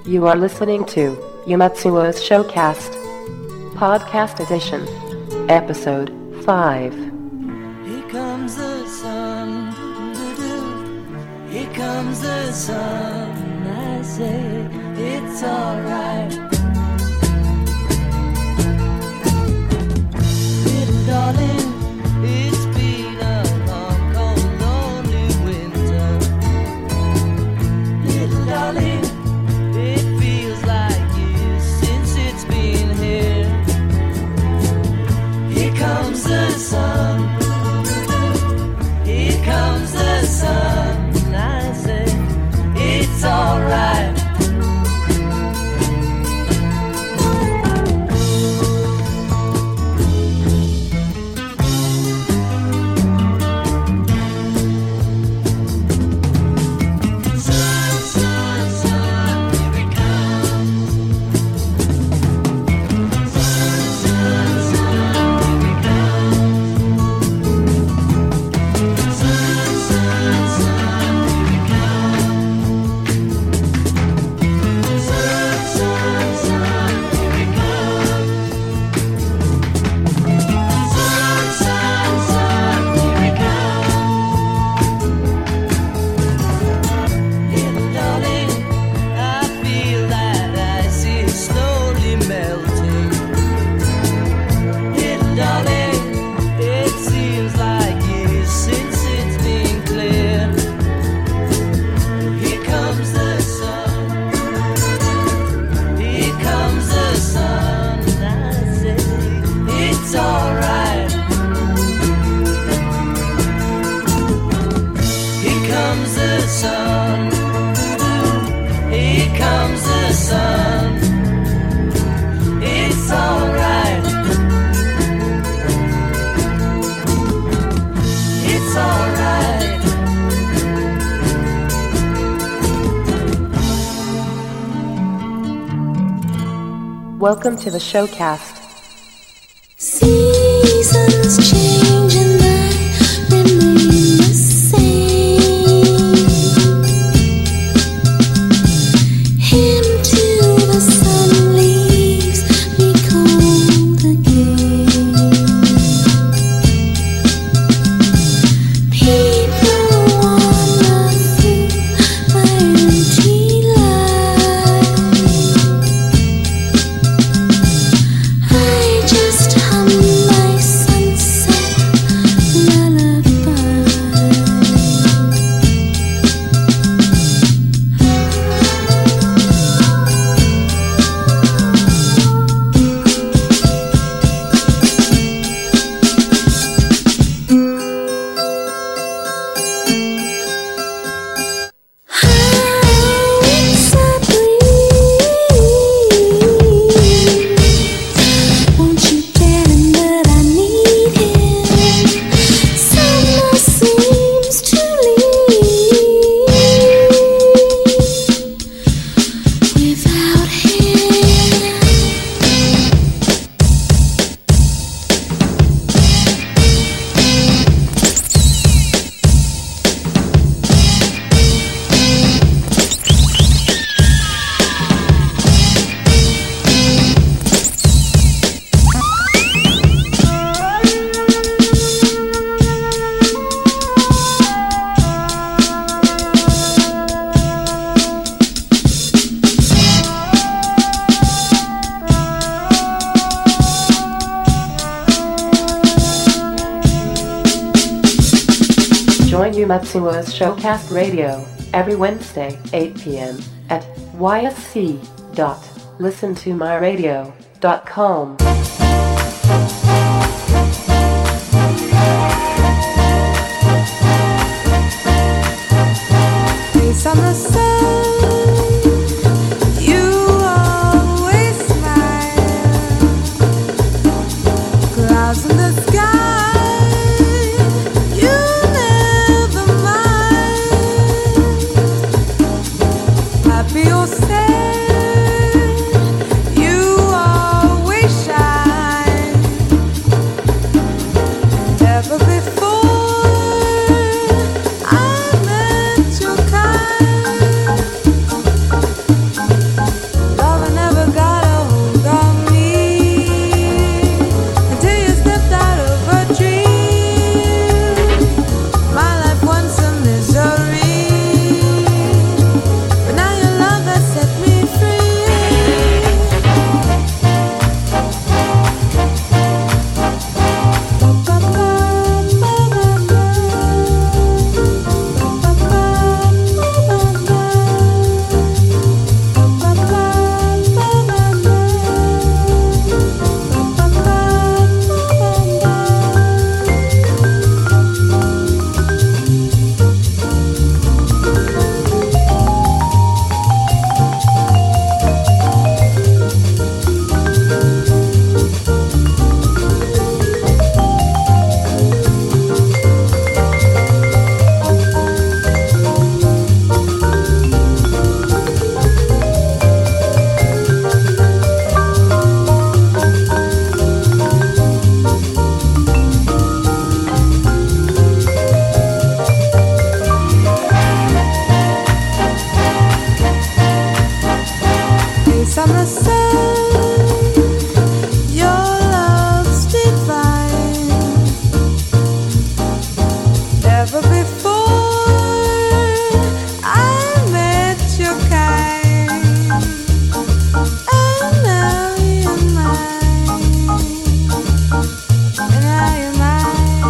You are listening to Yumatsuo's Showcast, Podcast Edition, Episode 5. Here comes the sun, doo-doo. Here comes the sun, I say it's alright. Little darling, it's been a long, cold, lonely winter. Little darling, it feels like years since it's been here. Here comes the sun. Here comes the sun. I say it's alright. Welcome to the Showcast. Seasons change and I remain the same. Into the sun leaves me cold again. People wander through my empty life. I just hum my sunset lullaby. How it's a breeze. Won't you tell him that I need him? Summer seems to leave without him. Join Yumatsuo's Showcast Radio every Wednesday, 8 p.m. at ysc.listentomyradio.com. Face on the sun, you always smile. Clouds in the sky, you never mind. Happy or sad, you always shine. But before I met your kind, and now you're mine, and now you're mine,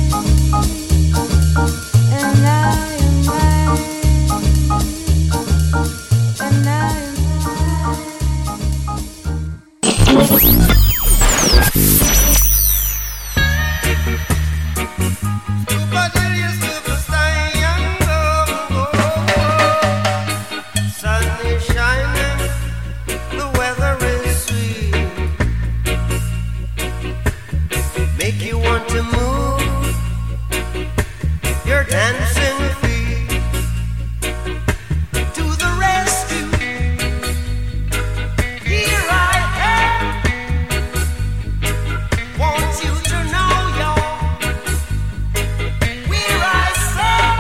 and now you're mine, and now you're Sun is shining, the weather is sweet. Make you want to move your dancing feet to the rescue. Here I am. Want you to know you're where I stand.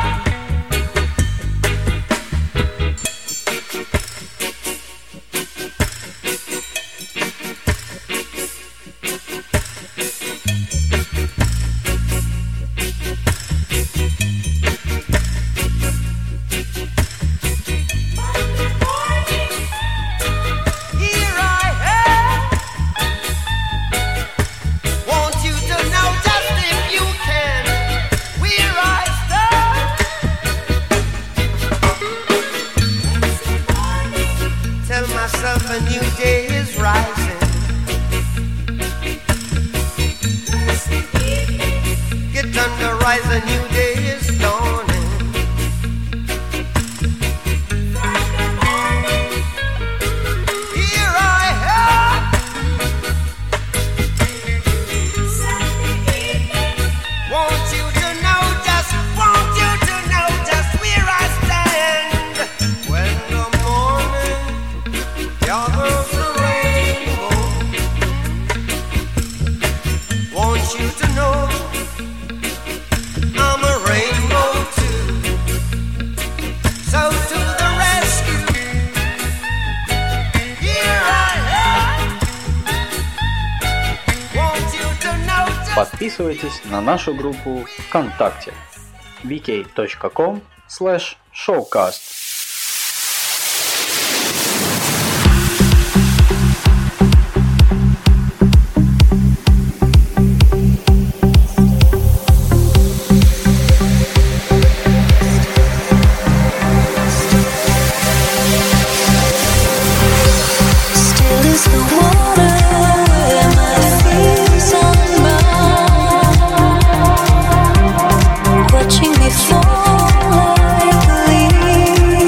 Here I am. Want you to know just if you can where I stand. Tell myself a new day is rising. Get under rise, a new day is dawning. Here I am. Want you to know just where I stand. When the morning gathers the rainbow, want you to know I'm a rainbow too. So to the rescue. Here I am. Want you to know just Подписывайтесь на нашу группу ВКонтакте vk.com/showcast. Still is the water where my fears unbound, watching me fall like a leaf.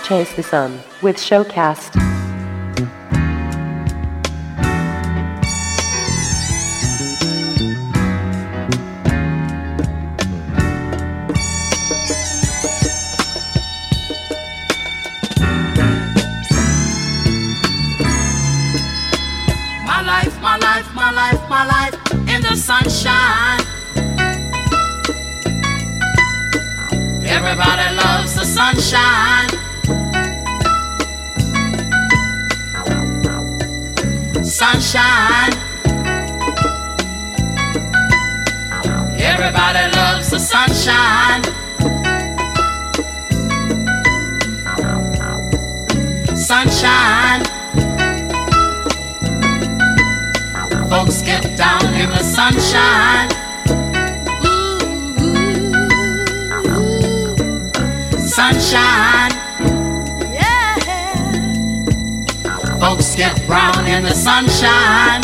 Chase the Sun with Showcast. My life in the sunshine. Everybody loves the sunshine. Sunshine. Everybody loves the sunshine. Sunshine. Folks get down in the sunshine. Sunshine. Yeah. Folks get brown in the sunshine.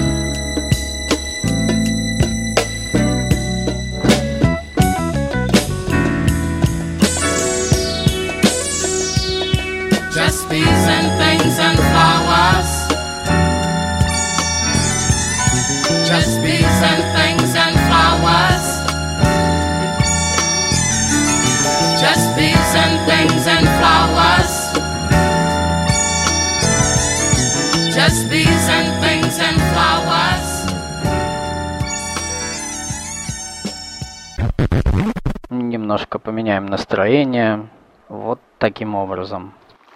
Just bees and things and flowers. Just bees and things and flowers. Just bees and things and flowers. Just bees and things and flowers. Немножко поменяем настроение. Вот таким образом.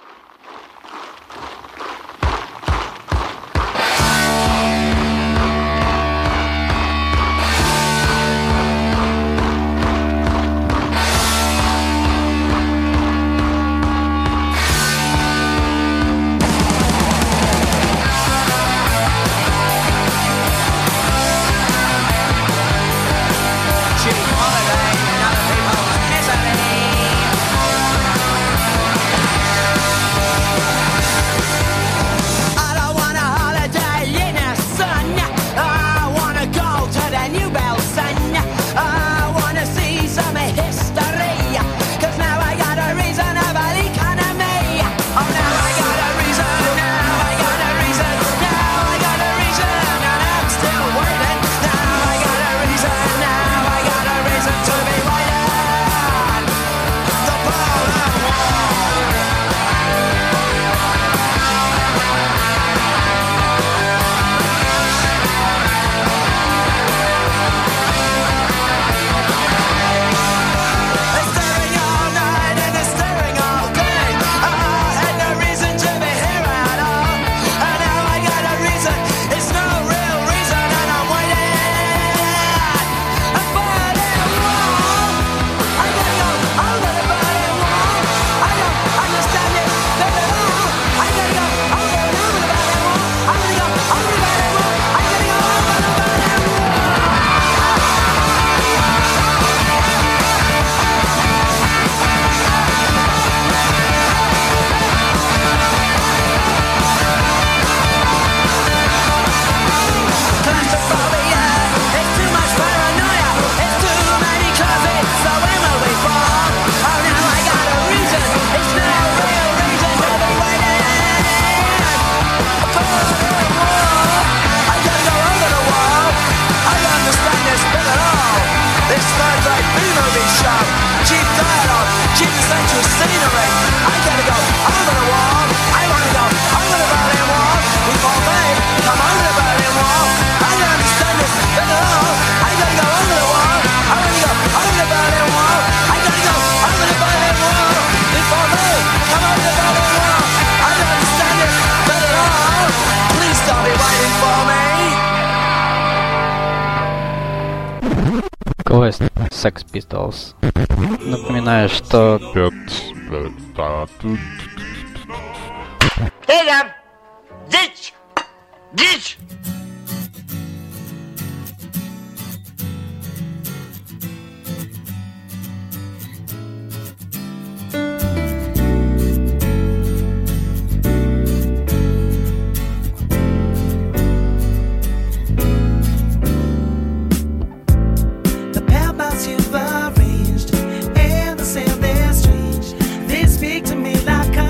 Quest Sex Pistols. Напоминаю, что Дичь! Дичь! The pebbles you've arranged and the sound they're strange. They speak to me like a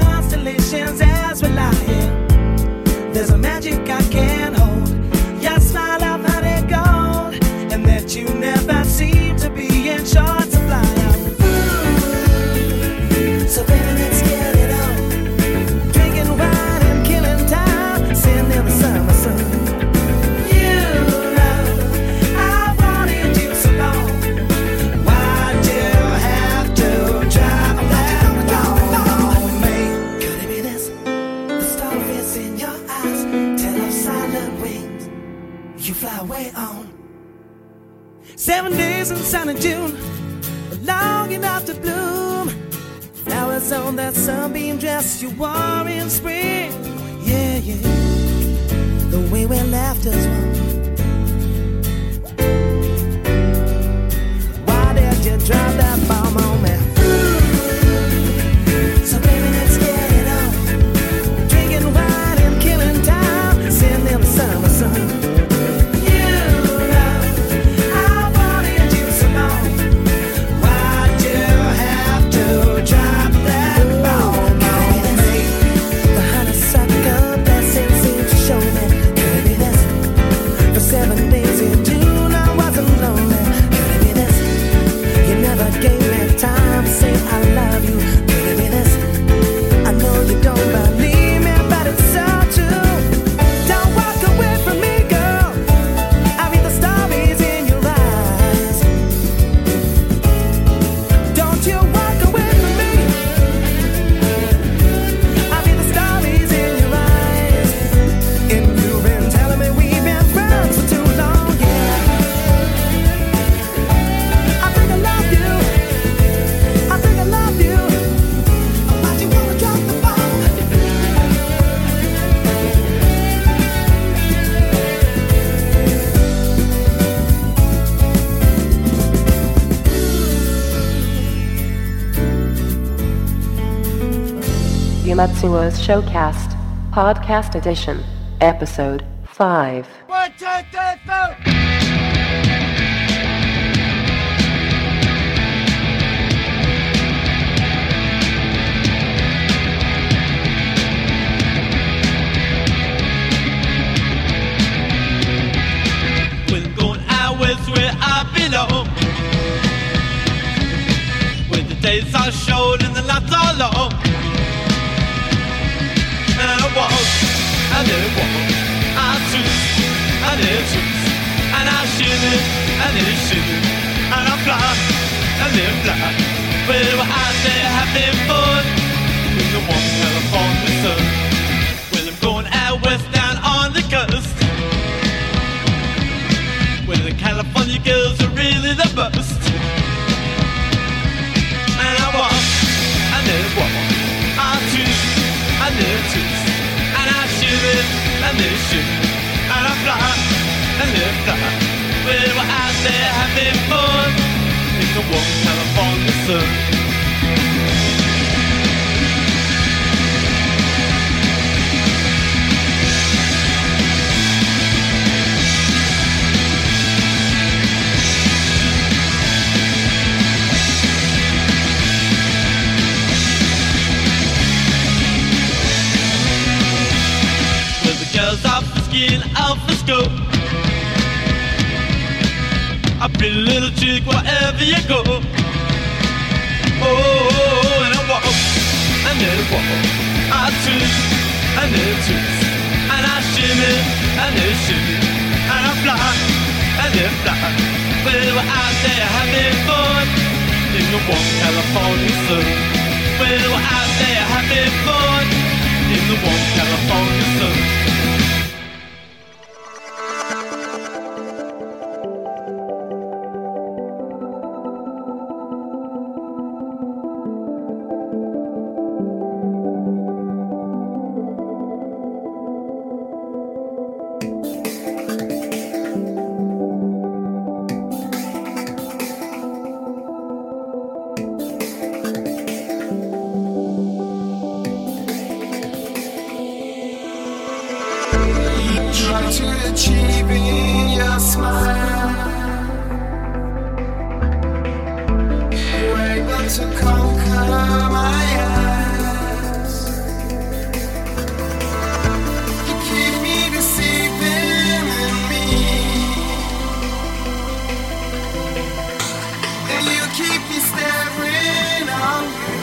7 days in sunny June, long enough to bloom. Flowers on that sunbeam dress you wore in spring. Yeah, yeah, the way we left us one. Why did you drop that bomb on me? So baby, let's get it on. Drinking wine and killing time, send them summer sun. Matsuo's Showcast, Podcast Edition, Episode 5. 1, 2, 3, 4. We're going out west where I belong, where the days are short and the nights are long. And I walk, I live walk, I twist, I live twist, and I shimmy, I live shimmy, and I fly, I live fly. Well, we're out there having fun in the warm California sun. Well, I'm going out west down on the coast, where the California girls are really the best. And I walk, I live walk, I twist, I live twist, and I shimmy, I live shimmy, and I fly, I live fly. Well, we're out there having fun in the warm California sun. Girls off the skin, off the scope. A pretty little chick wherever you go. Oh, and I walk, and then I walk. I twist, and then twist, and I shimmy, and then shimmy, and I fly, and then fly. Well, we're out there having fun in the warm California sun. Well, we're out there having fun in the warm California sun. To achieving your smile, you're able to conquer my eyes. You keep me deceiving in me, and you keep me staring on you.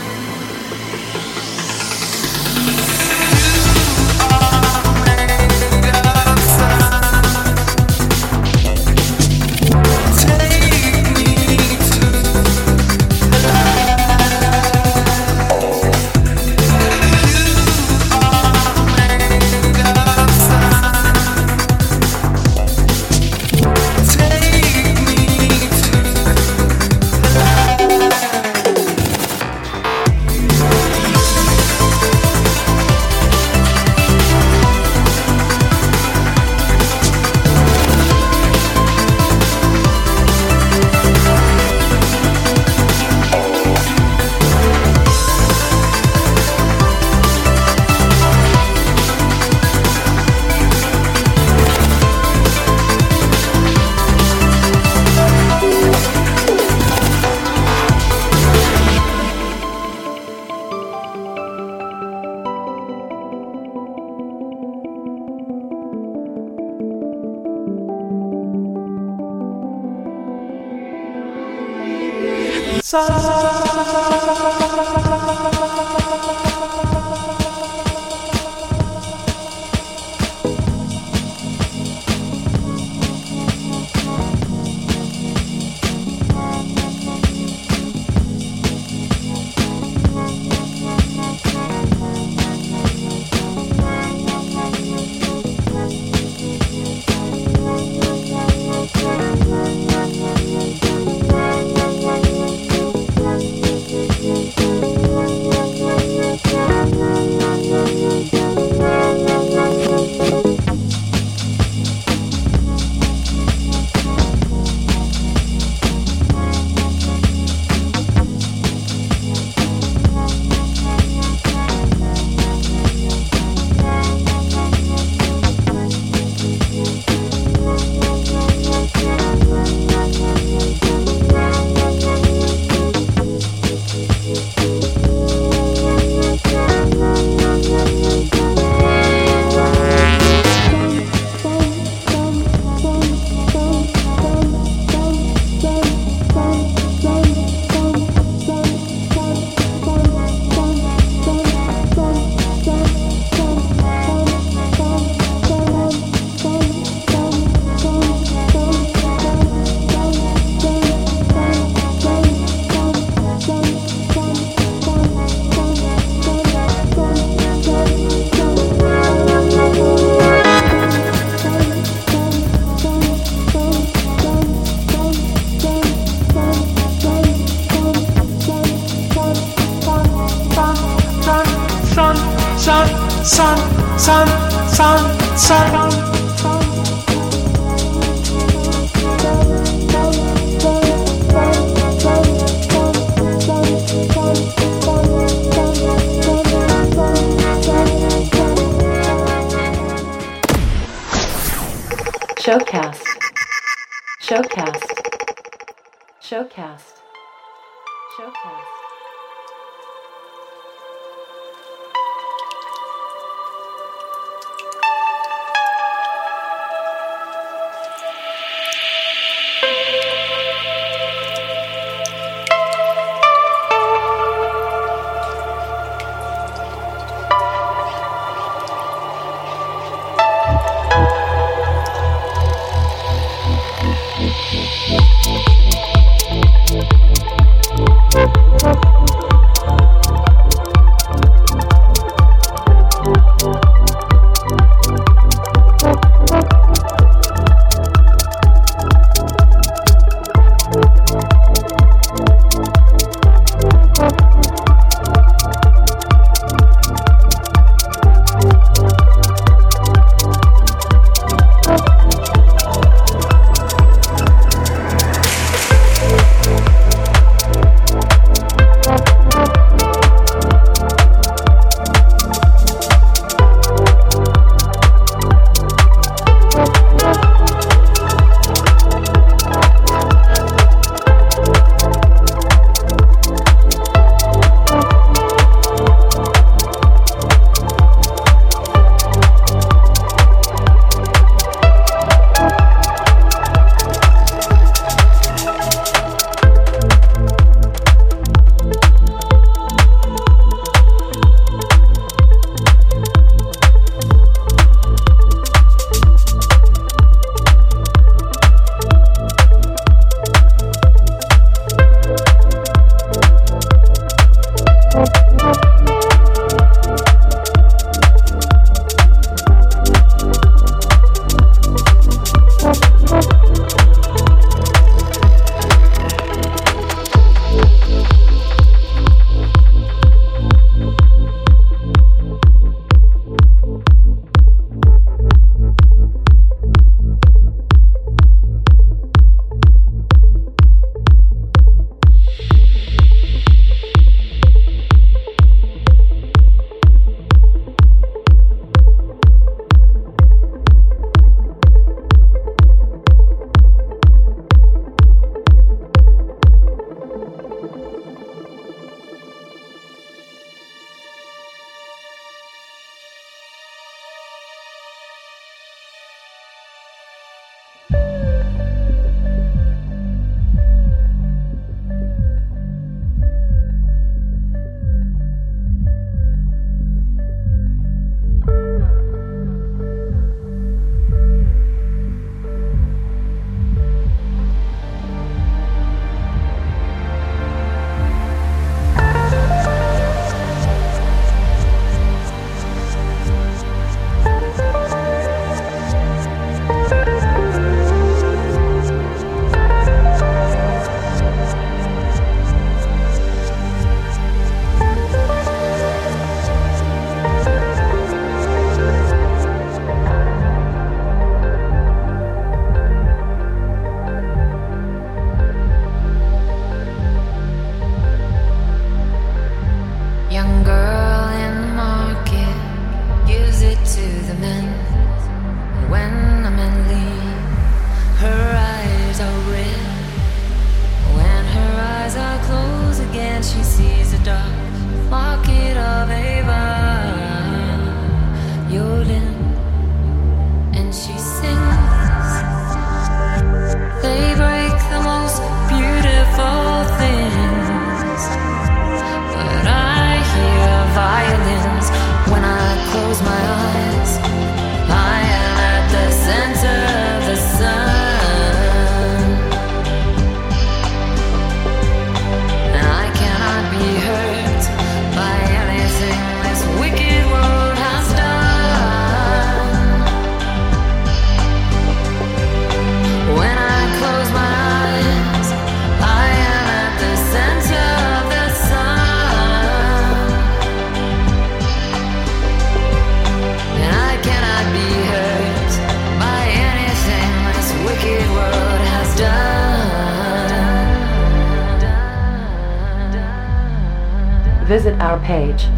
Take me to the light. Showcast. Showcast. Showcast. Showcast. Visit our page,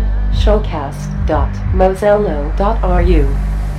showcast.mozilla.ru.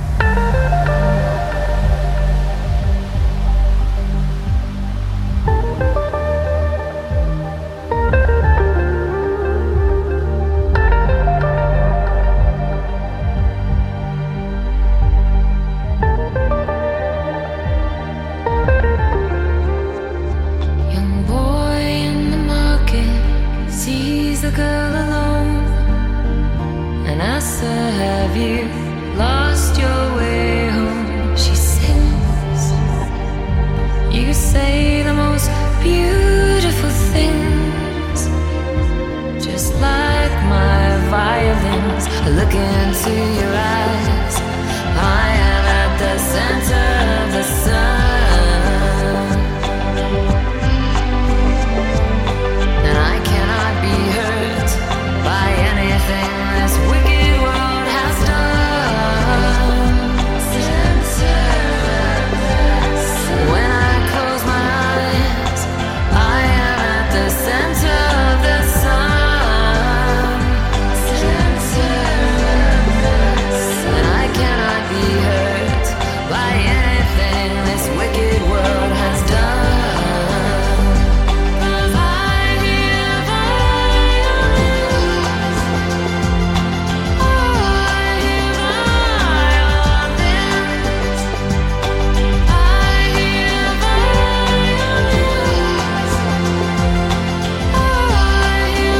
Young boy in the market sees the girl alone and asks her, have you lost your way home? She sings. You say the most beautiful things, just like my violins. I look into your eyes. I am at the center of the sun, and I cannot be hurt by anything this wicked world has done. When I close my eyes, I am at the center of the sun, and I cannot be hurt by anything this wicked world has done. 'Cause I hear violins. I hear violins. I hear violins. I hear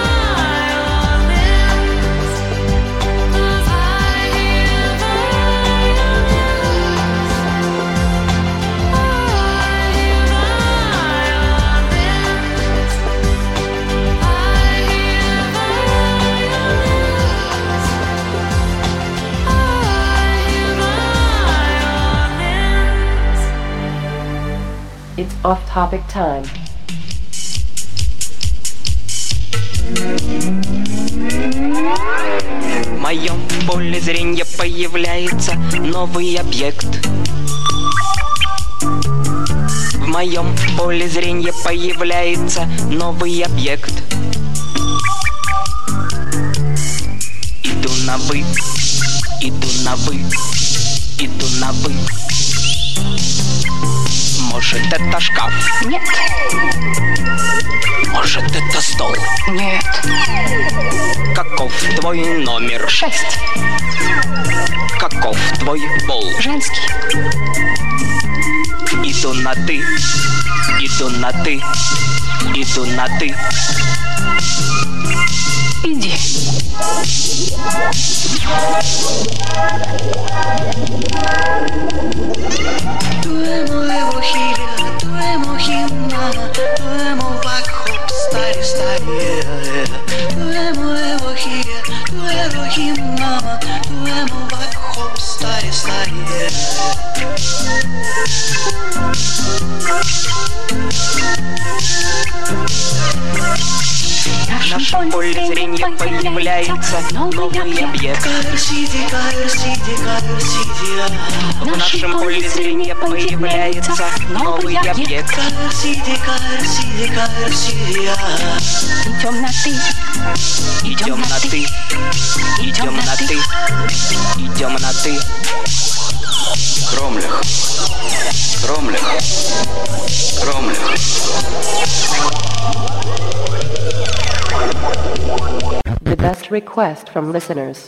violins. 'Cause I hear It's off-topic time. В моем поле зрения появляется новый объект. В моем поле зрения появляется новый объект. Иду на вы, иду на вы, иду на вы. Может, это шкаф? Нет. Может, это стол? Нет. Каков твой номер? 6. Каков твой пол? Женский. Иду на ты, иду на ты, иду на ты. Иди. Tú emo хиля, tú emo химна, tú emo вакхоп, стари, стари. Tú emo хиля, tú емо химна, tú емо вакхоп, стари, стари. В нашем поле зрения появляется новый объект. В нашем поле зрения появляется новый объект. Идем на ты. Идем на ты. Идем на ты. Идем на ты. Кромлях. Кромлях. Кромлях. The best request from listeners.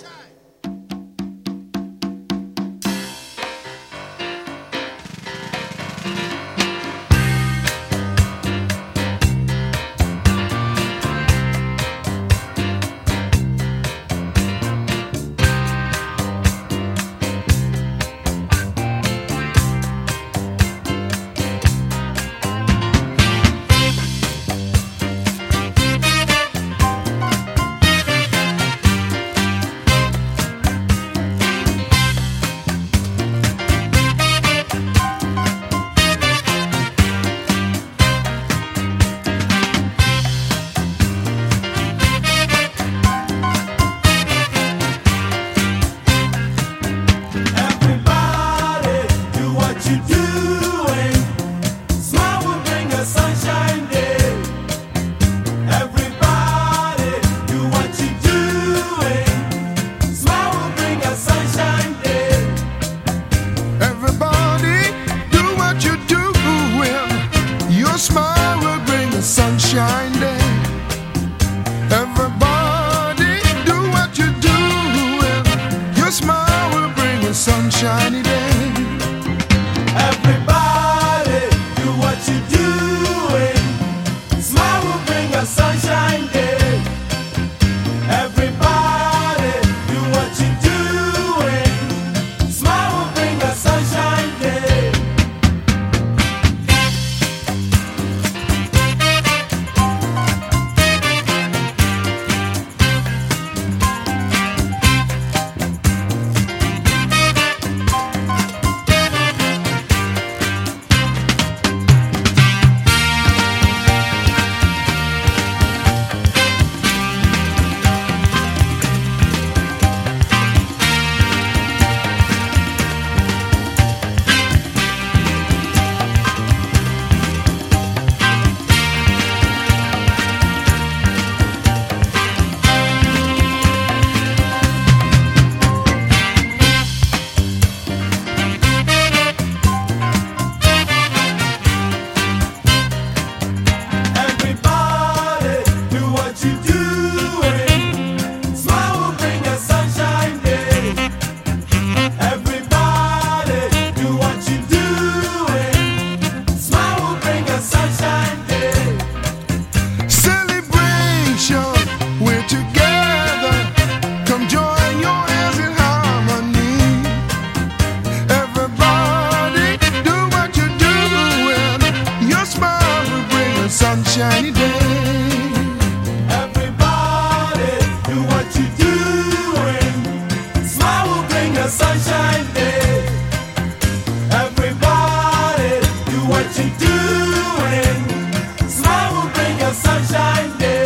sunshiny day. Everybody, do what you're doing. Smile will bring a sunshine day. Everybody, do what you're doing. Smile will bring a sunshine day.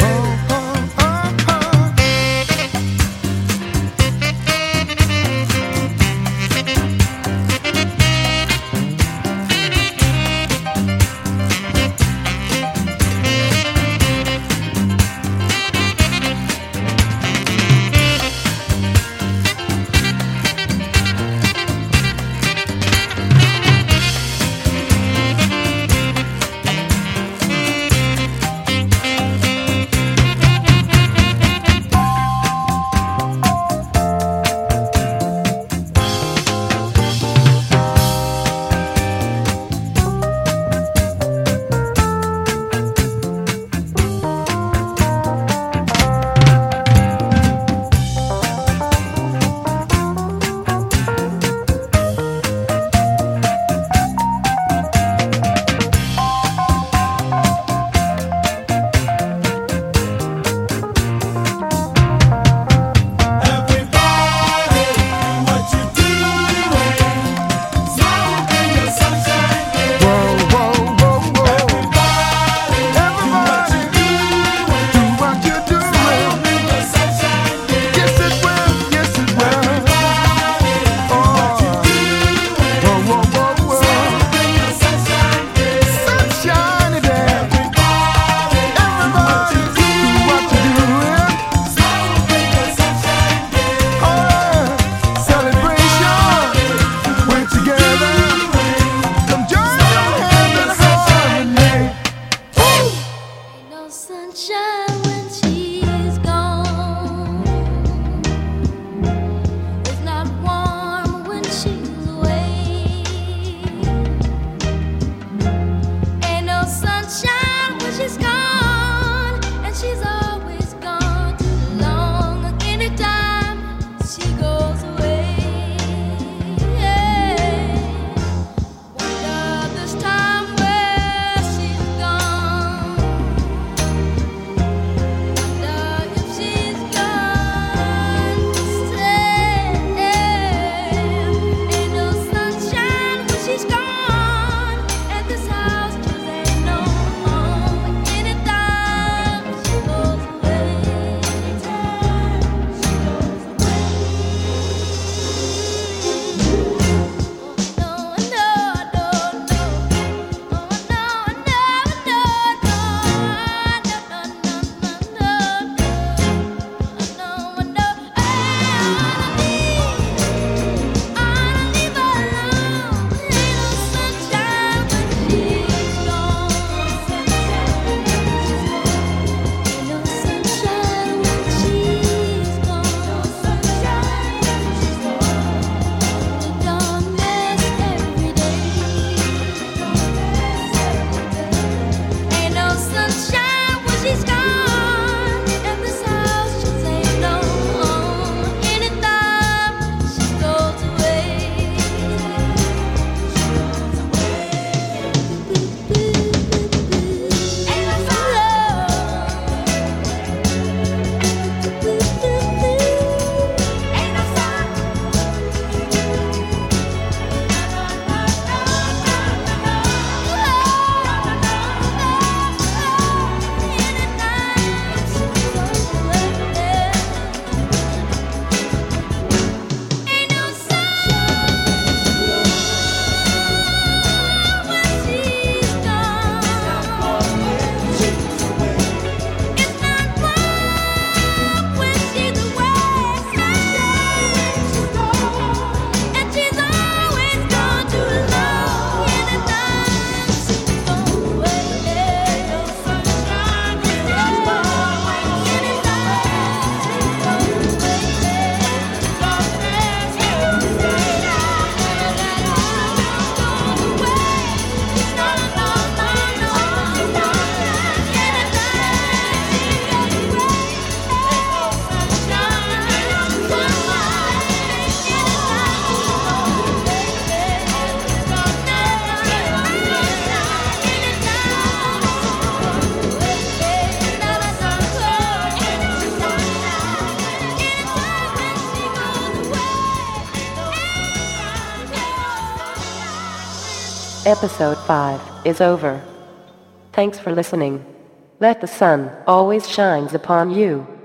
Episode 5 is over. Thanks for listening. Let the sun always shines upon you.